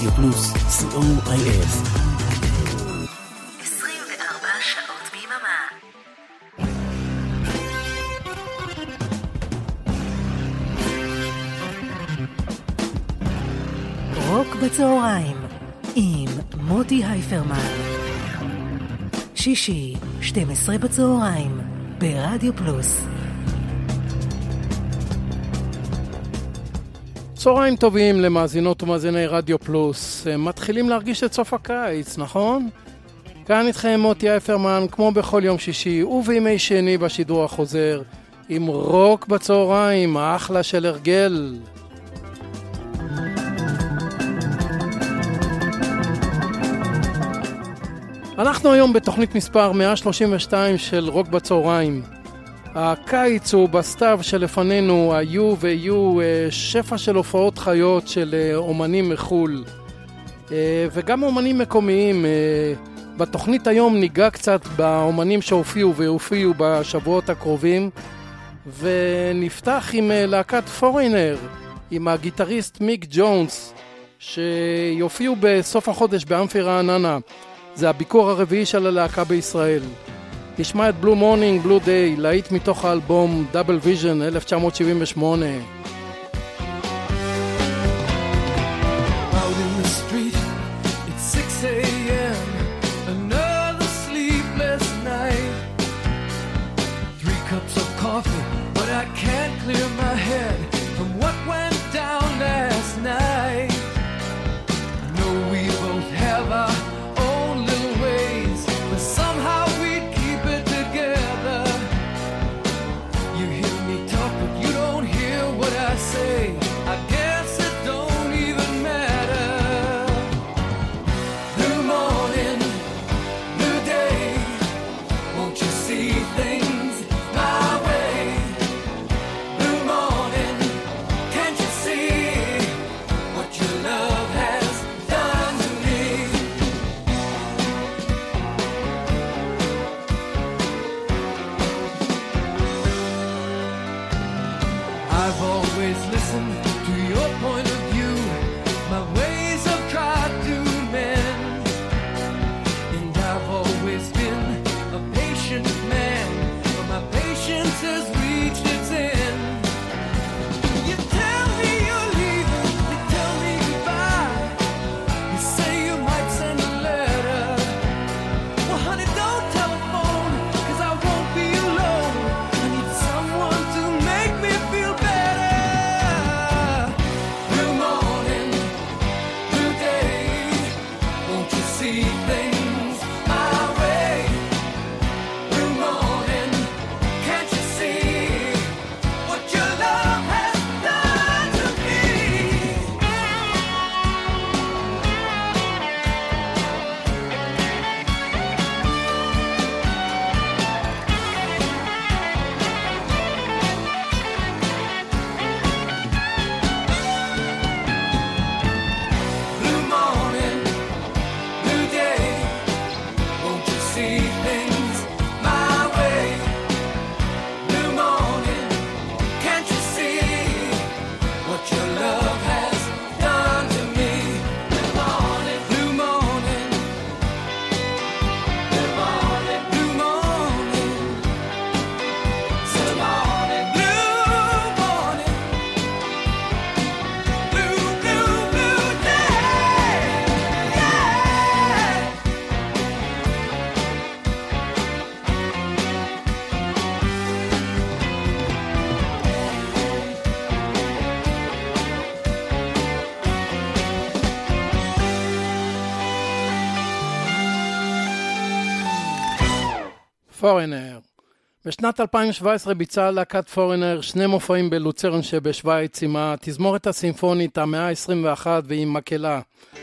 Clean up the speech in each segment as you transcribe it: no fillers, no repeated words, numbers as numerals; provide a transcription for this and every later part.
רדיו פלוס, COIF. 24 שעות ביממה. רוק בצהריים עם מוטי הייפרמן. שישי, 12 בצהריים, ברדיו פלוס. צהריים טובים למאזינות ומאזיני רדיו פלוס. מתחילים להרגיש את סוף הקיץ, נכון? כאן איתכם מוטי הייפרמן, כמו בכל יום שישי ובימי שני בשידור החוזר, עם רוק בצהריים, אחלה של הרגל. אנחנו היום בתוכנית מספר 132 של רוק בצהריים. הקיץ הוא בסתיו שלפנינו, היו ויהיו שפע של הופעות חיות של אומנים מחול וגם אומנים מקומיים. בתוכנית היום ניגע קצת באומנים שהופיעו ויופיעו בשבועות הקרובים, ונפתח עם להקת פורינר, עם הגיטריסט מיק ג'ונס, שיופיעו בסוף החודש באמפי רעננה. זה הביקור הרביעי של הלהקה בישראל. נשמע את בלו מורנינג בלו דיי, להיט מתוך האלבום דאבל ויז'ן 1978. פורינר. בשנת 2017 ביצעה להקת פורינר 2 מופעים בלוצרן שבשוויץ עם התזמורת הסימפונית המאה ה-21 ועם מקהלה.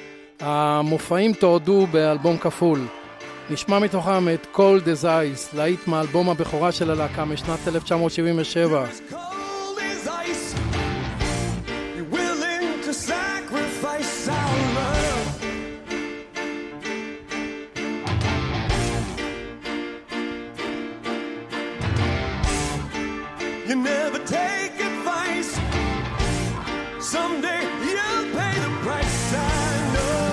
המופעים תועדו באלבום כפול. נשמע מתוכם את Cold as Ice, להיט מאלבום הבכורה של הלהקה משנת 1977. You never take advice. Someday you'll pay the price. I know.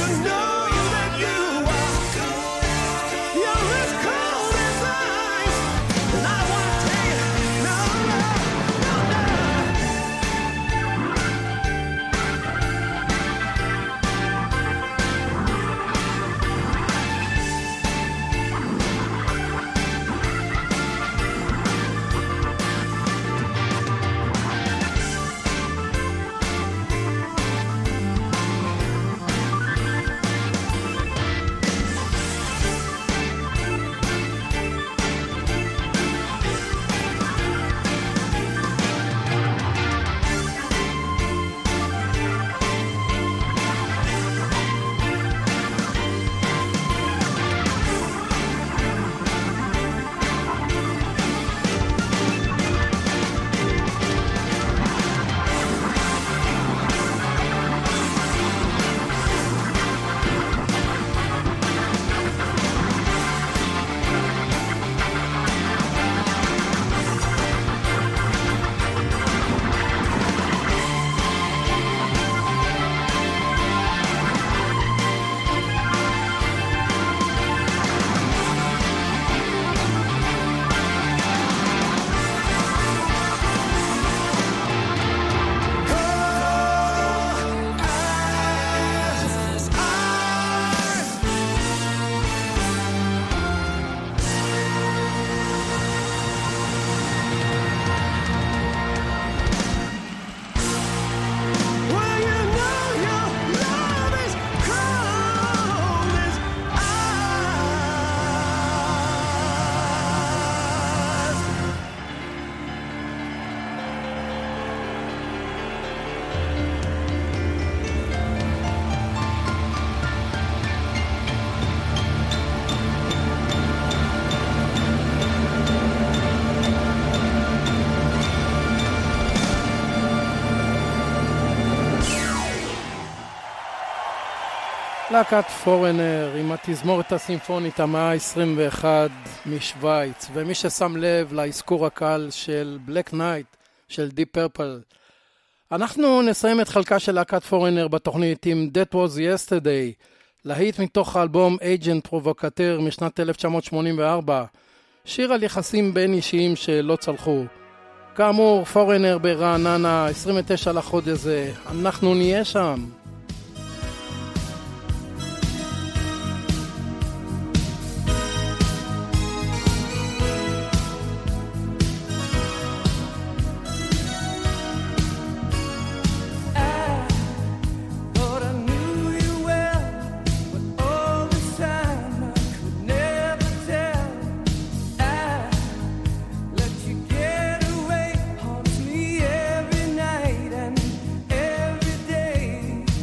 להקת פורנר עם התזמורת הסימפונית המאה ה-21 משוויץ, ומי ששם לב להזכור הקל של בלק נייט של דיפ פרפל. אנחנו נסיים את חלקה של להקת פורנר בתוכנית עם That Was Yesterday, להיט מתוך האלבום Agent Provocateur משנת 1984, שיר על יחסים בין אישיים שלא צלחו. כאמור, פורנר ברעננה, 29 לחודש הזה, אנחנו נהיה שם. Every night and every day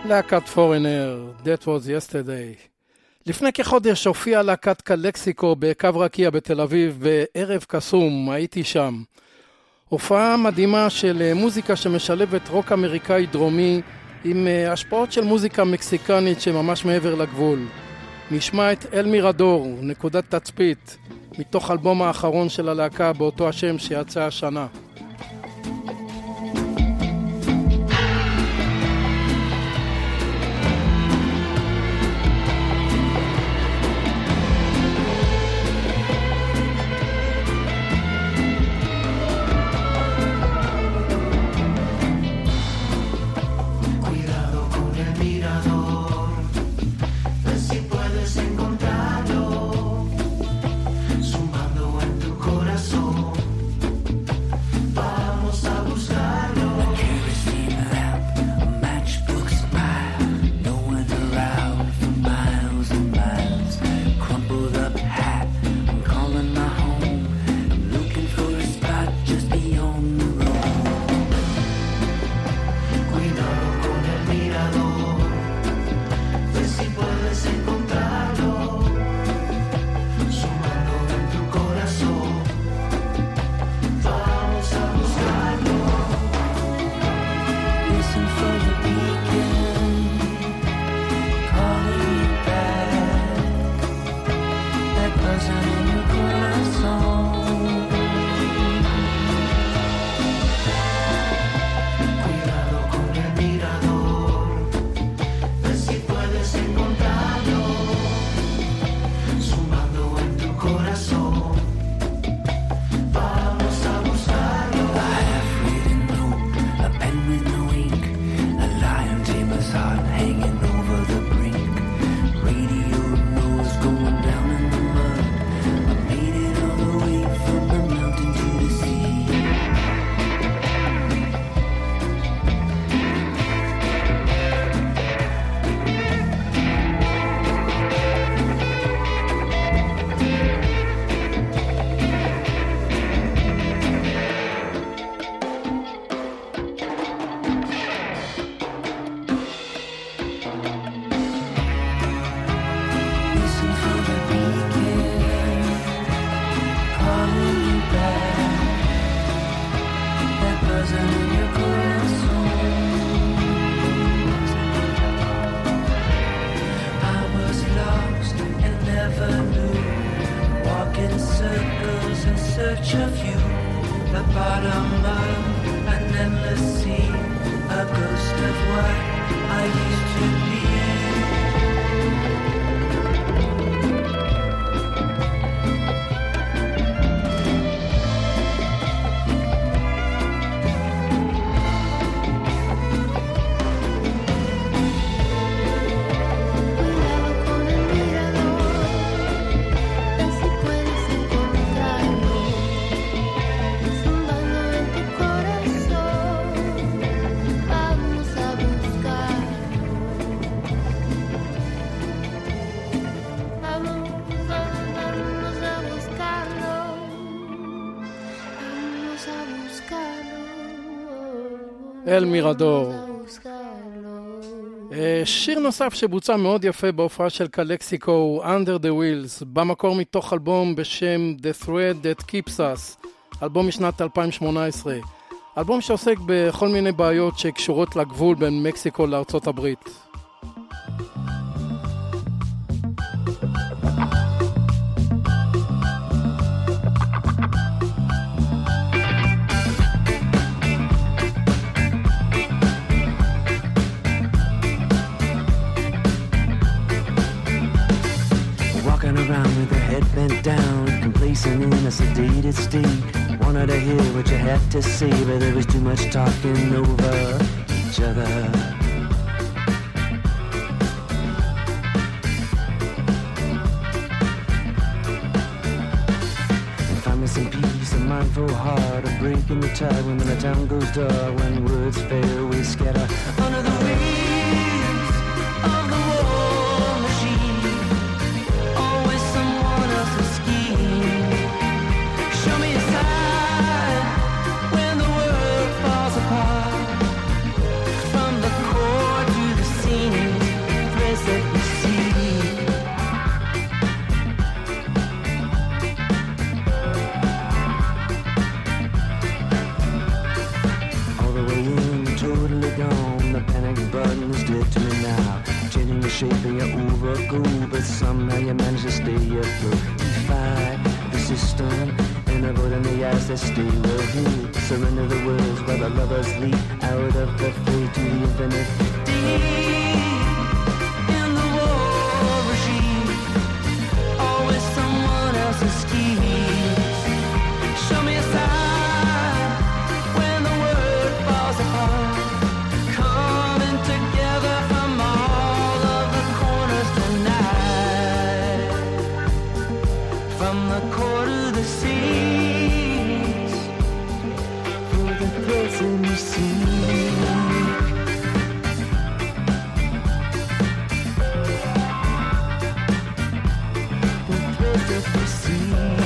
להקת פורנר, That was yesterday. לפני כחודש הופיעה להקת קלקסיקו בקו רקיע בתל אביב בערב קסום, הייתי שם. הופעה מדהימה של מוזיקה שמשלבת רוק אמריקאי דרומי עם השפעות של מוזיקה מקסיקנית שממש מעבר לגבול. נשמע את אל מירדור, נקודת תצפית, מתוך אלבום האחרון של הלהקה באותו השם שיצא השנה. אל מירדור. שיר נוסף שבוצע מאוד יפה בהופעה של קלקסיקו הוא Under the Wheels, במקור מתוך אלבום בשם The Thread That Keeps Us, אלבום משנת 2018. אלבום שעוסק בכל מיני בעיות שקשורות לגבול בין מקסיקו לארצות הברית. Around with her head bent down, complacent in a sedated state. Wanted to hear what you had to say, but there was too much talking over each other. And find me some peace, a mindful heart, a break in the tide when the town goes dark. When words fail, we scatter under the wheels of the war machine. When the world falls apart, from the core to the scene. shaping it overgo, but somehow you manage to stay afloat. Defy the system and avoiding the eyes that stay well here. Surrender the words while the lovers leap out of the fray to the infinite. Deep in the war regime, always someone else's schemes. Show me a sign when the world falls apart, coming together from all of the corners tonight, from the core to the seas, for the person you see. The person you see.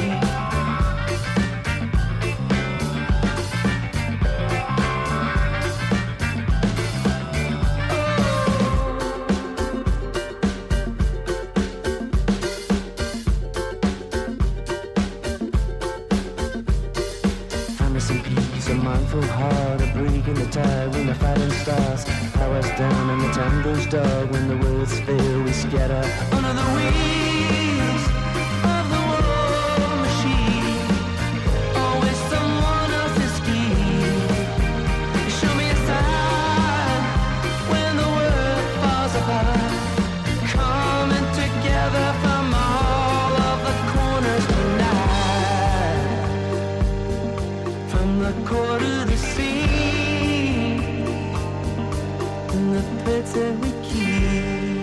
Some peace, a mindful heart, a break in the tide when the fighting starts. Powers down and the time goes dark. When the words fail, we scatter under the wings of the war machine. Always someone else's scheme. Show me a sign when the world falls apart, coming together from all of the corners tonight, from the core to the sea, and the pits that we keep.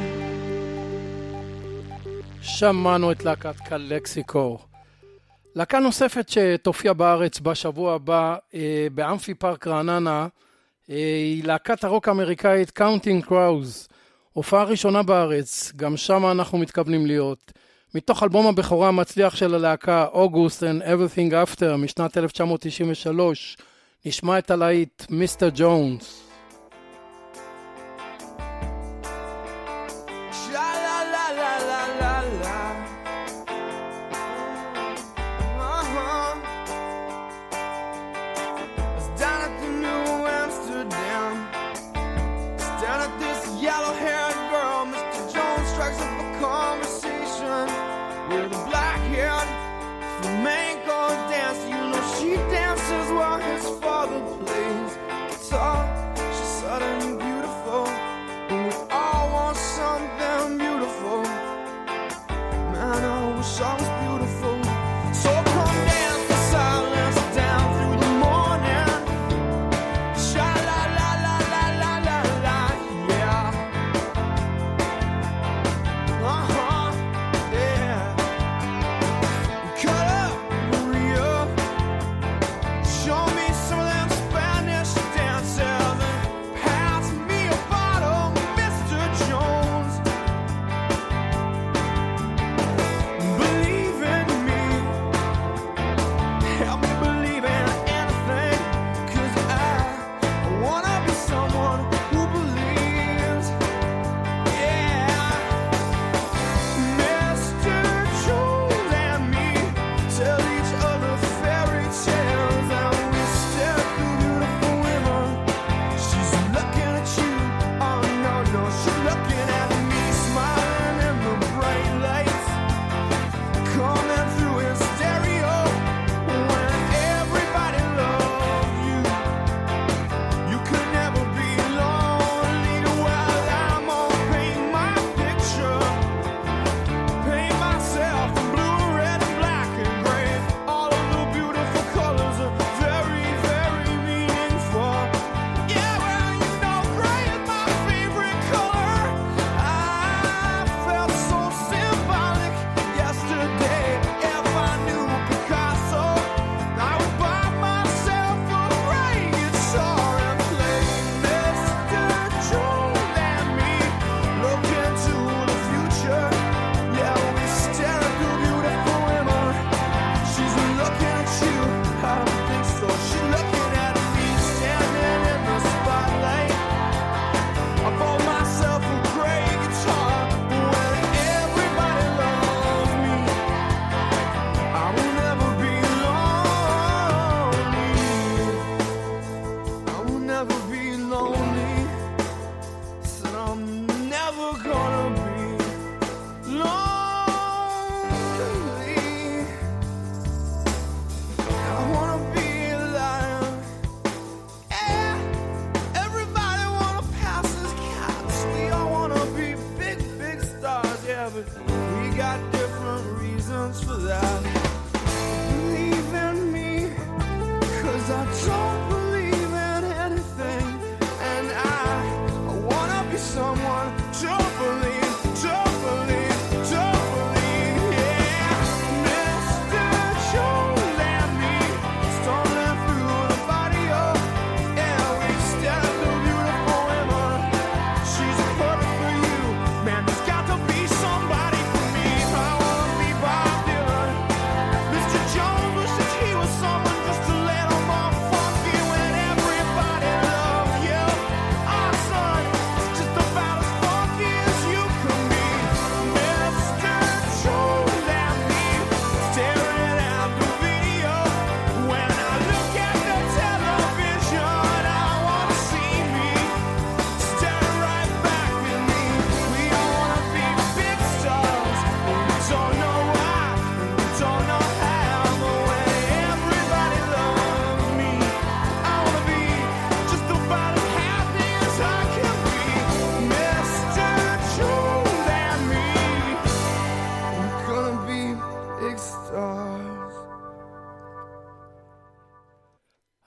שמענו את להקת קלקסיקו. להקה נוספת שתופיע בארץ בשבוע הבא באמפי פארק רעננה היא להקת הרוק האמריקאית Counting Crows. הופעה ראשונה בארץ, גם שם אנחנו מתכוונים להיות. מתוך אלבום הבכורה המצליח של הלהקה August and Everything After משנת 1993 נשמע את הלהיט מיסטר ג'ונס.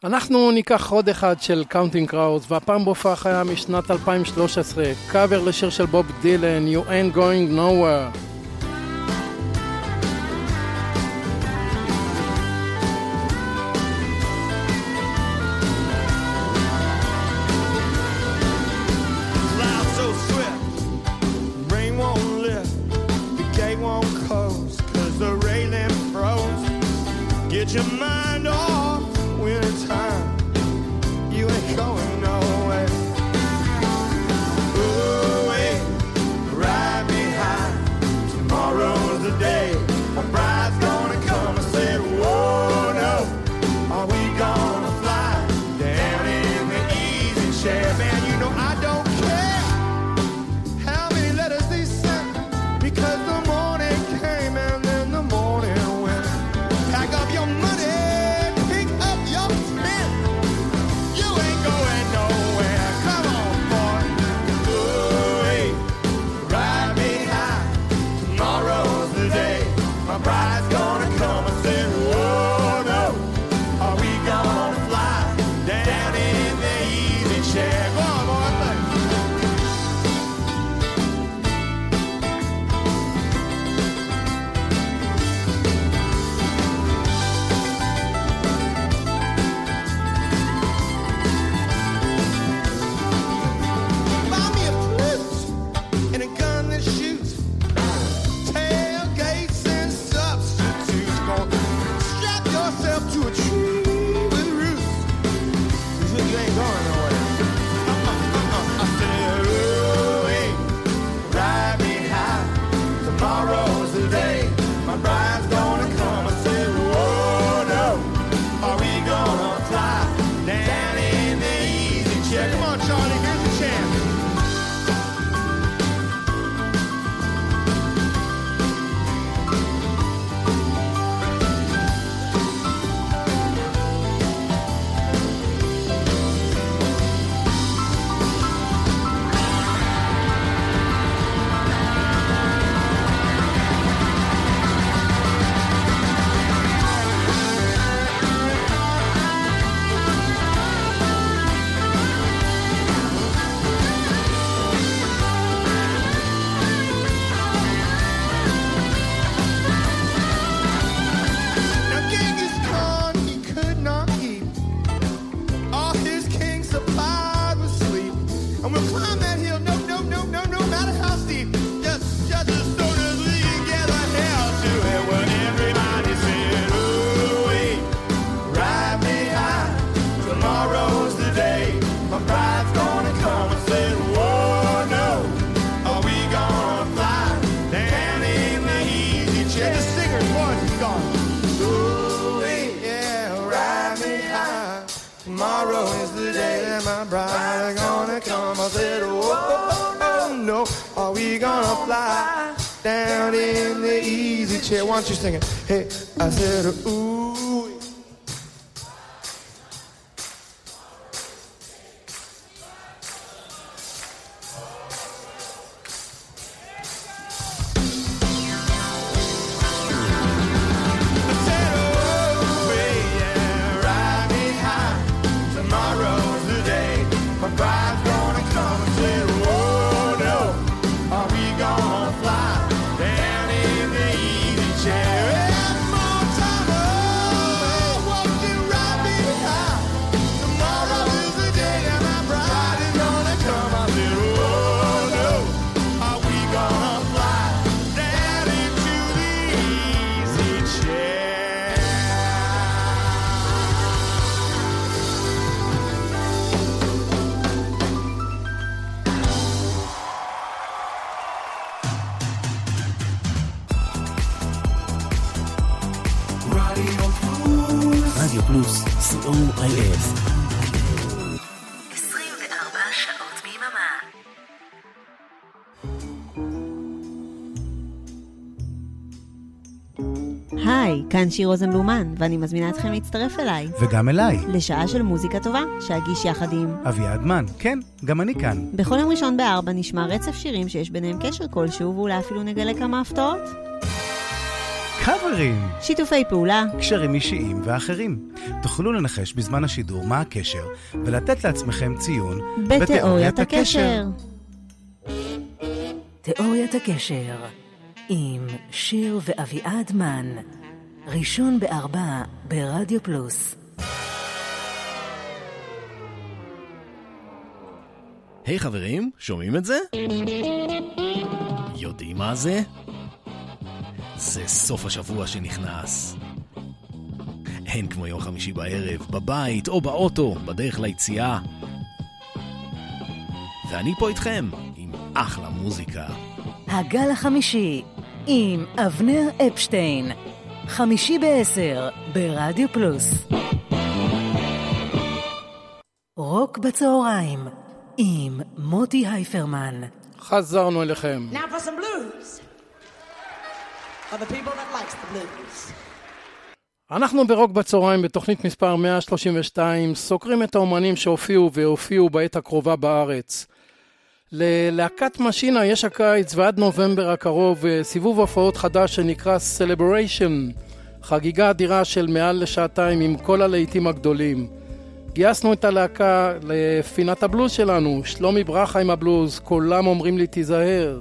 אנחנו ניקח עוד אחד של קאונטינג קראודס, והפעם בהופעה חיה משנת 2013, קאבר לשיר של בוב דילן, You Ain't Going Nowhere. Get your mind off winter time. You ain't going nowhere. Ooh, wait, ride me high. Tomorrow's the day. My bride's gonna come. I said, whoa, no. Are we gonna fly down in the easy chair? Man, you know I don't care how many letters they sent, because the morning came and then the morning went. Pack up your money, pick up your pen. You ain't going nowhere. Come on, boy. Ooh, hey, ride me high. Tomorrow's the day. My bride's gonna come. I said, whoa, no. Are we gonna fly down in the easy chair? Go on, boy, play. Buy me a flute and a gun that shoots, tailgates and substitutes. Gonna strap yourself to a tree with roots, 'cause you ain't going nowhere. I said, ooh, hey, ride me high. Tomorrow's the day. My bride's gonna come. I said, whoa, no. Are we gonna fly down in the easy chair? Come on, Charlie, here's the chance. Now Genghis Khan, he could not keep all his king supplied with sleep. And we'll climb that hill, no matter how steep. Just as soon as we get the hell to it. When everybody said, ooh, wait, ride me high. Tomorrow's the day. My bride's gonna come. I said, whoa, no. Are we gonna fly down in the easy chair? The singer's voice is gone. Ooh, yeah, ride me high. Tomorrow is the day that my bride's gonna come. I said, whoa, no. Are we gonna fly down in the easy chair? Why don't you sing it? Hey, I said, ooh. I said, oh, yeah, ride me high. Tomorrow's the day. My bride's gonna come. I said, whoa, no. Are we gonna fly down in the easy chair? One more time, oh, won't you ride me high? Tomorrow is the day that my bride is gonna come. I said, whoa, no. Are we gonna fly down into the easy chair? רדיו פלוס, COIF. 24 שעות ביממה. היי, כאן שיר רוזנבלומן, ואני מזמינה אתכם להצטרף אליי. וגם אליי, לשעה של מוזיקה טובה, שאגיש יחד עם אביעד מן. כן, גם אני כאן. בכל יום ראשון ב-4 נשמע רצף שירים שיש ביניהם קשר כלשהו, ואולי אפילו נגלה כמה הפתעות. קאברים, שיתופי פעולה, קשרים אישיים ואחרים. תוכלו לנחש בזמן השידור מה הקשר ולתת לעצמכם ציון בתיאוריית הקשר. תיאוריית הקשר עם שיר ואביעד מן, ראשון ב4 ברדיו פלוס. היי חברים, שומעים את זה? יודעים מה זה? זה סוף השבוע שנכנס. אין כמו יום חמישי בערב, בבית או באוטו, בדרך ליציאה. ואני פה איתכם, עם אחלה מוזיקה. הגל החמישי, עם אבנר אפשטיין. 5:50 ברדיו פלוס. רוק בצהריים, עם מוטי הייפרמן. חזרנו אליכם. Now for some blues. For the people that likes the blues. אנחנו ברוק בצהריים בתוכנית מספר 132, סוקרים את האומנים שהופיעו והופיעו בעת הקרובה בארץ. ללהקת משינה יש הקיץ ועד נובמבר הקרוב סיבוב הופעות חדש שנקרא Celebration, חגיגה אדירה של מעל לשעתיים עם כל הלהיטים הגדולים. גייסנו את הלהקה לפינת הבלוז שלנו, שלומי ברכה עם הבלוז, כולם אומרים לי תיזהר.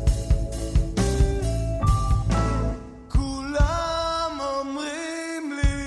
כולם אומרים לי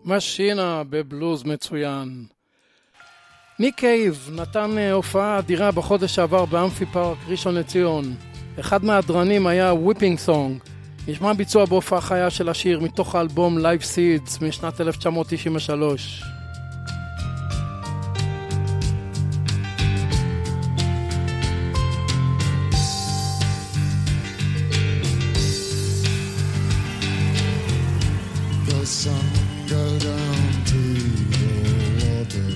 משינה בבלוז מצוין. ניק קייב נתן הופעה אדירה בחודש שעבר באמפי פארק ראשון לציון. אחד מהדרנים היה וויפינג סונג. נשמע ביצוע בהופעה חיה של השיר מתוך האלבום Live Seeds משנת 1993. The sun go down to the water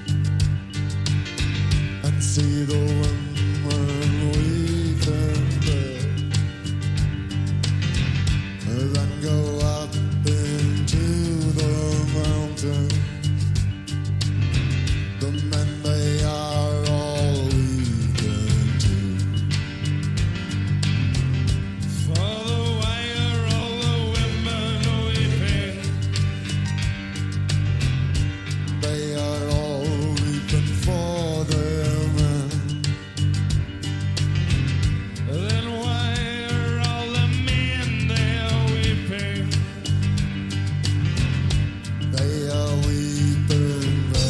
and see the women weeping there, and then go up into the mountain. The men, they are all weeping too. Father, why are all the women weeping? They are all weeping for their men. Then why are all the men there weeping? They are weeping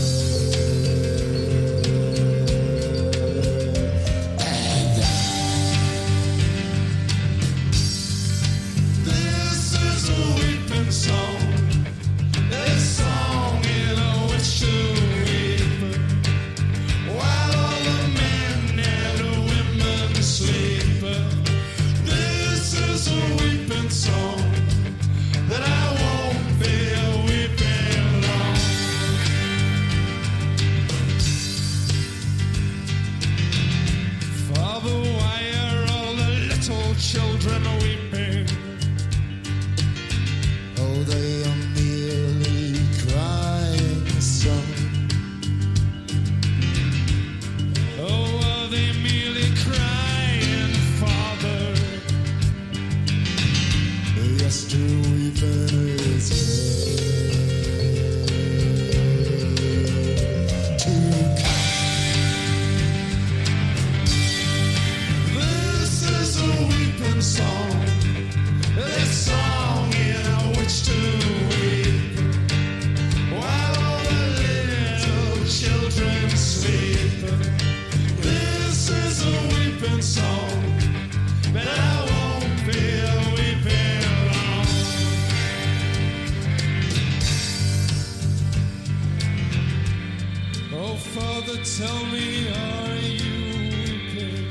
This is a weeping song. This song in which to weep, while all the men and the women sleep. This is a weeping song that I won't be weeping long. Father, why are all the little children weeping? Oh, they are merely crying, son. Oh, are they merely crying, Father? Yes, to weep in his head. To This is a weeping song. This song in which to weep, while all the little children sleep. This is a weeping song, but I won't be weeping long. Oh, Father, tell me, are you weeping?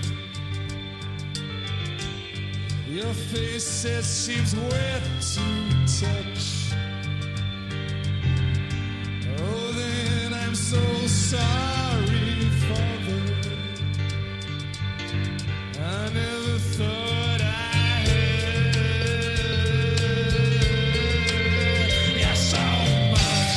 Your face, it seems wet to touch. Oh, then I'm so sorry, Father. I never thought I had yeah, so much.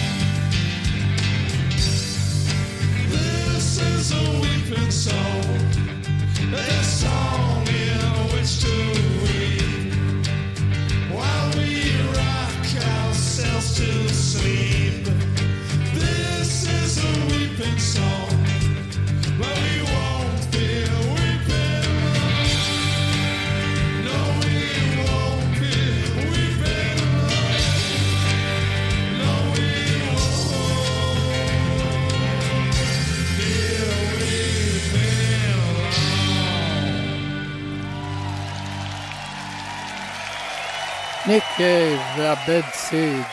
This is a weeping song. This song in which to weep, while we rock ourselves to sleep. This is a weeping song, but we won't be weeping long. No, we won't be weeping long. No, we won't be weeping long. ניק קייב והבד סידס.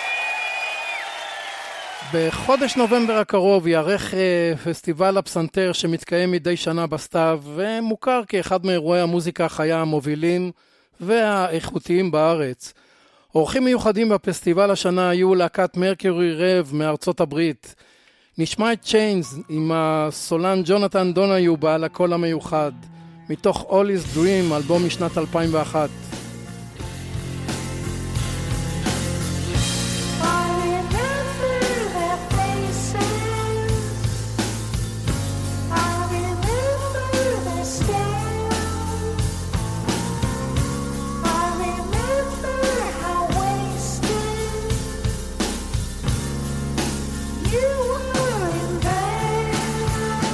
בחודש נובמבר הקרוב יערך פסטיבל הפסנתר שמתקיים מדי שנה בסתיו, ומוכר כאחד מאירועי המוזיקה החיה המובילים והאיכותיים בארץ. אורחים מיוחדים בפסטיבל השנה היו להקת מרקיורי רב מארצות הברית. נשמע את צ'יינס עם הסולן ג'ונתן דוניו בעל הקול המיוחד, מתוך All is Dream, אלבום משנת 2001.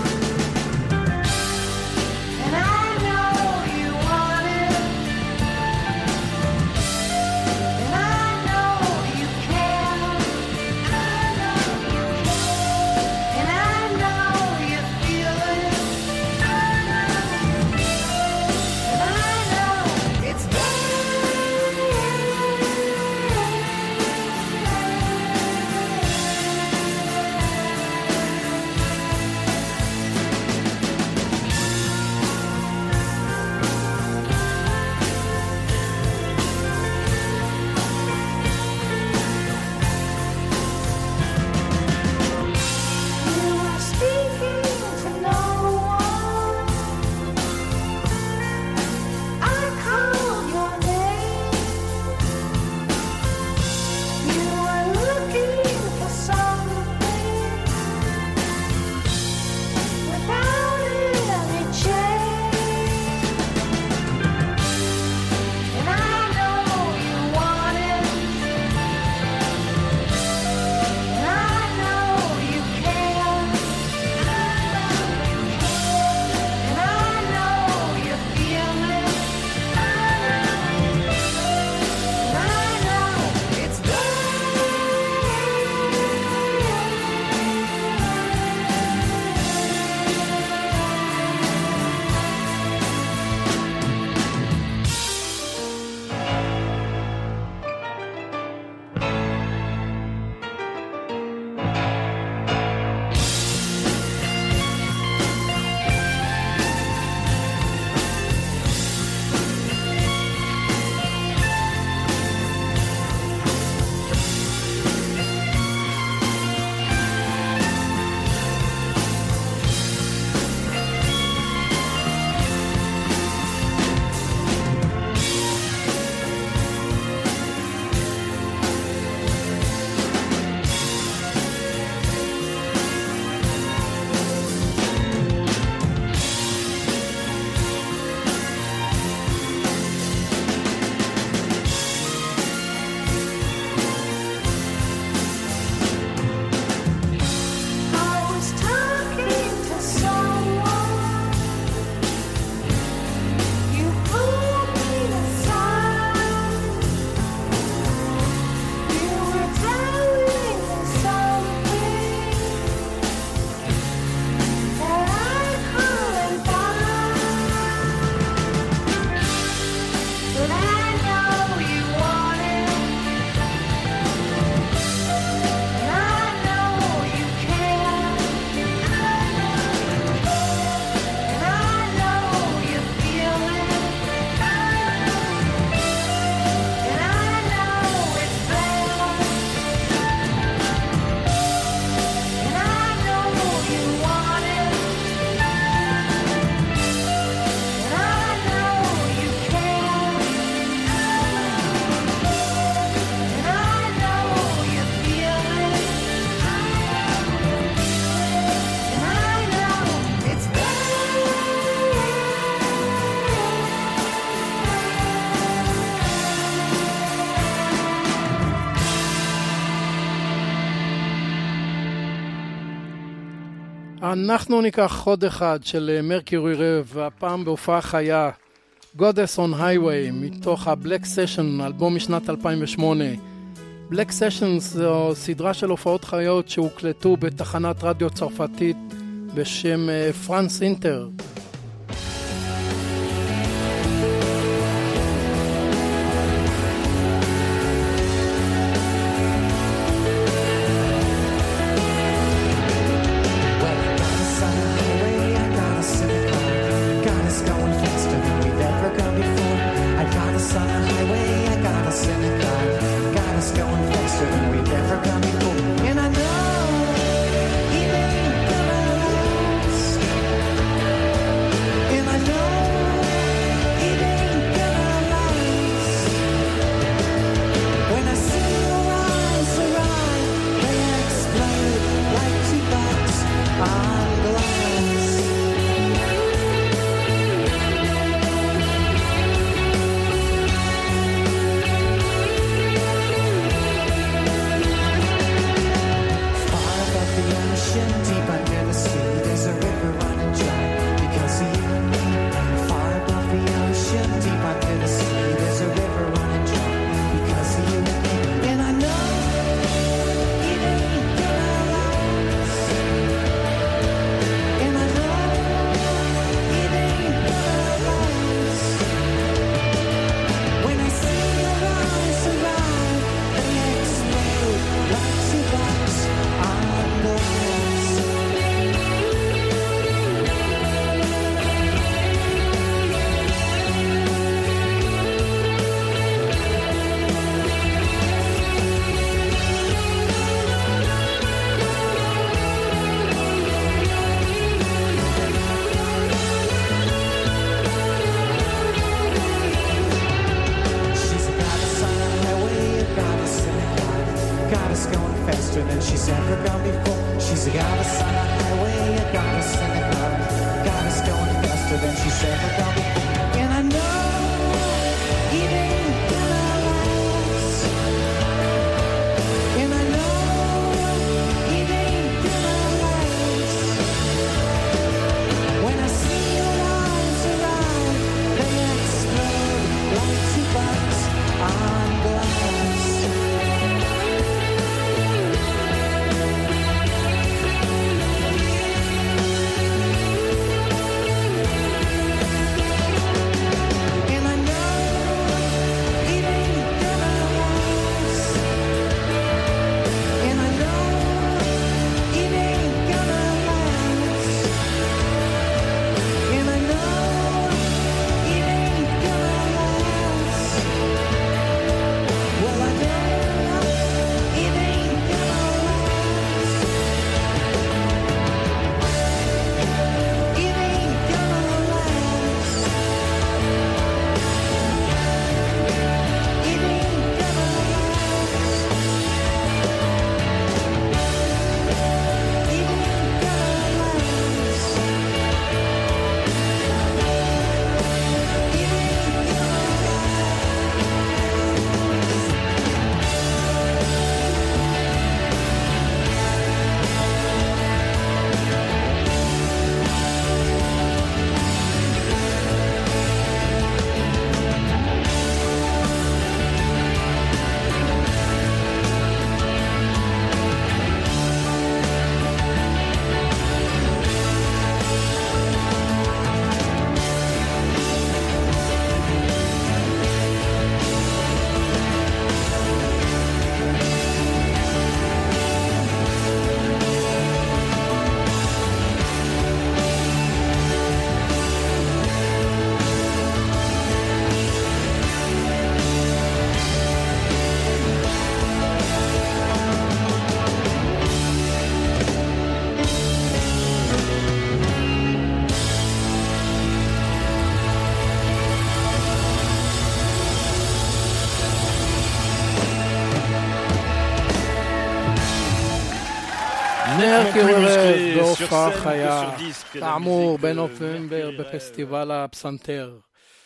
And I know you wanted אנחנו ניקח חוד אחד של מרקיורי רב, והפעם בהופעה חיה, Goddess on Highway, מתוך ה-Black Session, אלבום משנת 2008. Black Sessions זו סדרה של הופעות חיות שהוקלטו בתחנת רדיו צרפתית בשם פרנס אינטר. מרקיורי רב בהופעה חיה, כאמור בנובמבר בפסטיבל הפסנתר.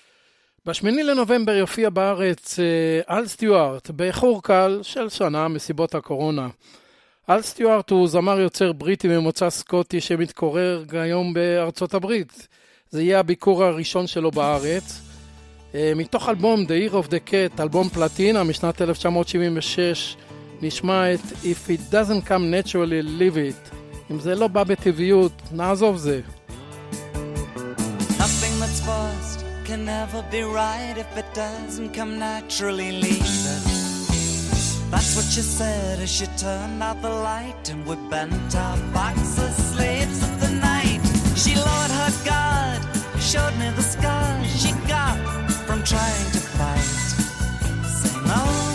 ב8 לנובמבר יופיע בארץ אל סטיוארט, באיחור קל של שנה מסיבות הקורונה. אל סטיוארט הוא זמר יוצר בריטי ממוצא סקוטי שמתקורר היום בארצות הברית. זה יהיה הביקור הראשון שלו בארץ. מתוך אלבום The Year of the Cat, אלבום פלטינה משנת 1976, נשמע את If It Doesn't Come Naturally, Leave It. אם זה לא בא בטבעיות, נעזוב זה. Nothing that's forced can never be right. If it doesn't come naturally, leave it. That's what she said as she turned out the light and we bent our backs as slaves of the night. She lowered her guard, showed me the scars she got from trying to fight. Saying, oh,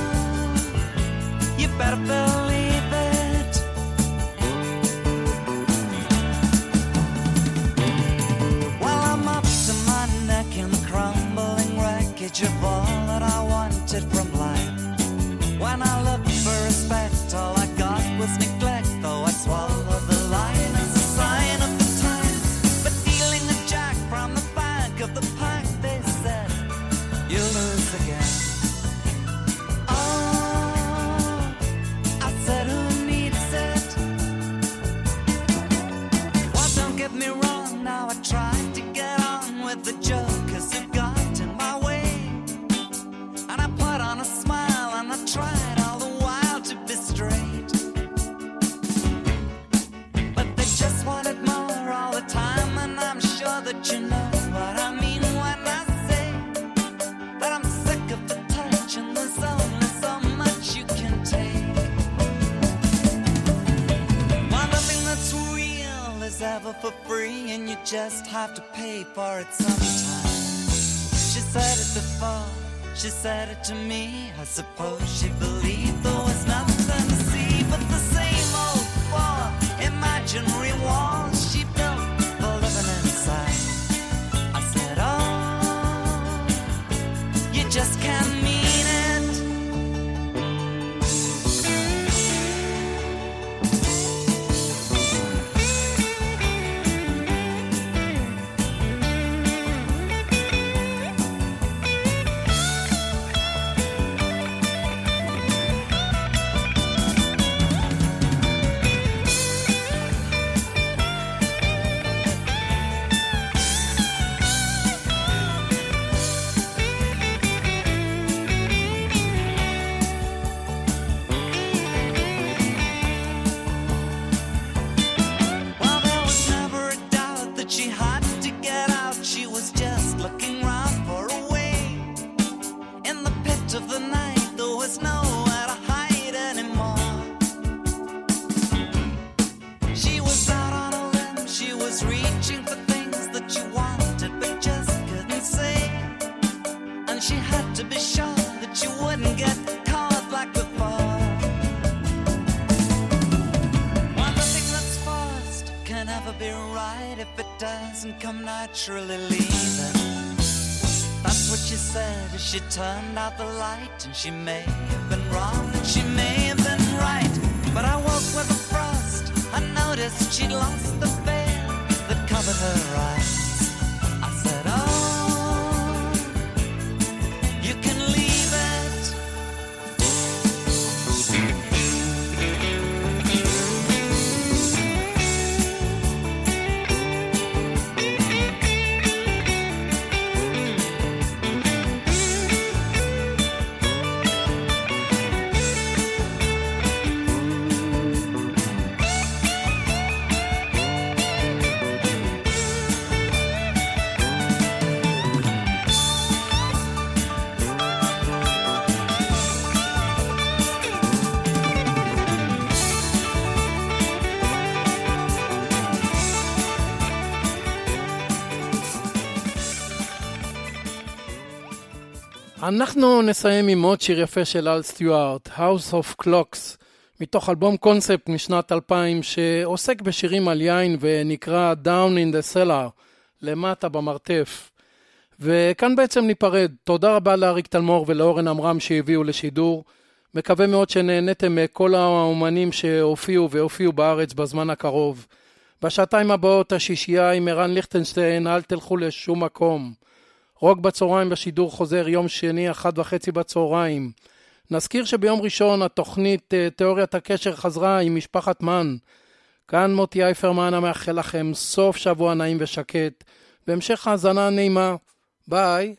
you better believe it. Well, I'm up to my neck in the crumbling wreckage of all that I wanted from life. When I looked for respect, all I got was neglect, though I swallowed the line as a sign of the times. But dealing a jack from the back of the pack, they said, you lose again. Oh, I said, who needs it? Well, don't get me wrong, now I tried to get on with the jokers who got in my way. And I put on a smile and I tried all the while to be straight. But they just wanted more all the time, and I'm sure that you know what I mean when I say that I'm sick of the touch and there's only so much you can take. Well, nothing that's real is ever for free, and you just have to pay for it sometime. She said it before, she said it to me. I suppose she believed there was nothing to see but the same old four imaginary walls she built for living inside. I said, oh, you just can't mean it. Well, there was never a doubt that she had to get out. She was just looking round for a way. In the pit of the night, there was nowhere to hide anymore. She was out on a limb, she was reaching for things that she wanted but just couldn't say. And she had to be sure that she wouldn't get caught like before. One thing that's forced can never be right. If it doesn't come naturally, leave it. That's what she said as she turned out the light. And she may have been wrong and she may have been right, but I woke with a frost. I noticed she'd lost the veil that covered her eyes. I said, oh, you can leave it. אנחנו נסיים עם עוד שיר יפה של אל סטיוארט, House of Clocks, מתוך אלבום קונספט משנת 2000 שעוסק בשירים על יין ונקרא Down in the Cellar, למטה במרתף. וכאן בעצם ניפרד. תודה רבה לאריק תלמור ולאורן אמרם שהביאו לשידור. מקווה מאוד שנהנתם מכל האומנים שהופיעו בארץ בזמן הקרוב. בשעתיים הבאות השישייה עם ערן ליכטנשטיין, אל תלכו לשום מקום. רוק בצהריים בשידור חוזר יום שני 1:30 בצהריים. נזכיר שביום ראשון התוכנית תיאוריית הקשר חזרה עם משפחת מן. כאן מוטי אייפרמן המאחל לכם סוף שבוע נעים ושקט, בהמשך האזנה נעימה. ביי.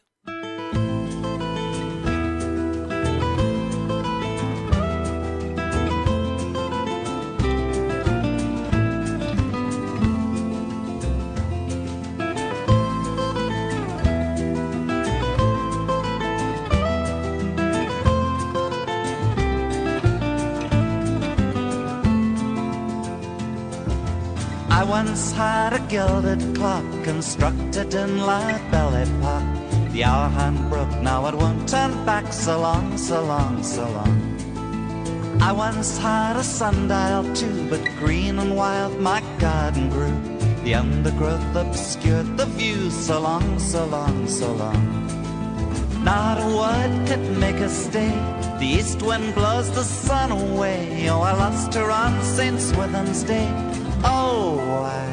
I once had a gilded clock constructed in Labelly Park. The hour hand broke, now it won't turn back. So long, so long, so long. I once had a sundial too, but green and wild my garden grew. The undergrowth obscured the view. So long, so long, so long. Not a word could make us stay. The east wind blows the sun away. Oh, I lost her on St. Swithin's Day. Oh, why?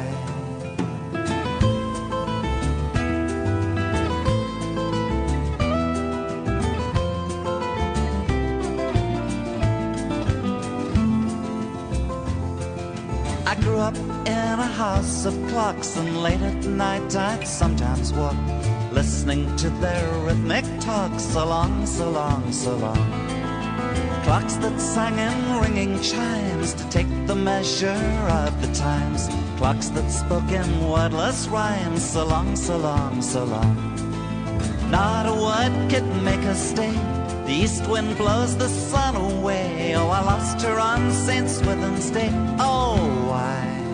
I grew up in a house of clocks, and late at night I'd sometimes walk, listening to their rhythmic talk. So long, so long, so long. Clocks that sang in ringing chimes to take the measure of the times. Clocks that spoke in wordless rhymes. So long, so long, so long. Not a word could make her stay. The east wind blows the sun away. Oh, I lost her on St. Swithin's Day. Oh, why?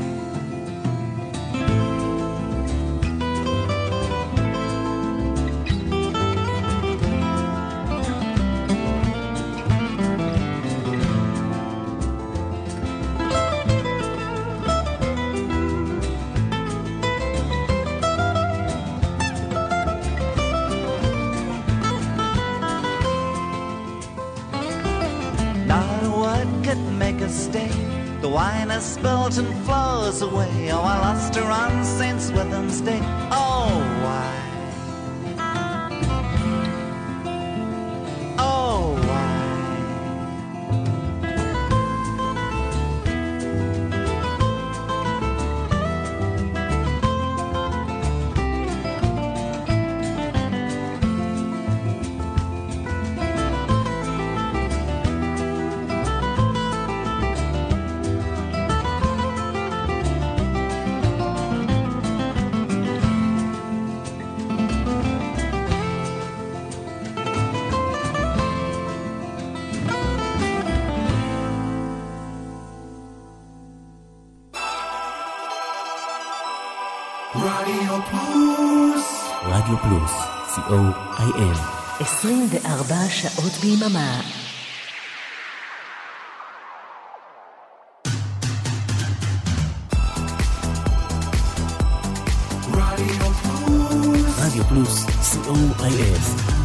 Stay. The wine is spilt and flows away. Oh, I lost her on St. Swithin's Day. Oh, why? Oh, why? רדיו פלוס, COIM. 24 שעות ביממה. רדיו פלוס, COIM.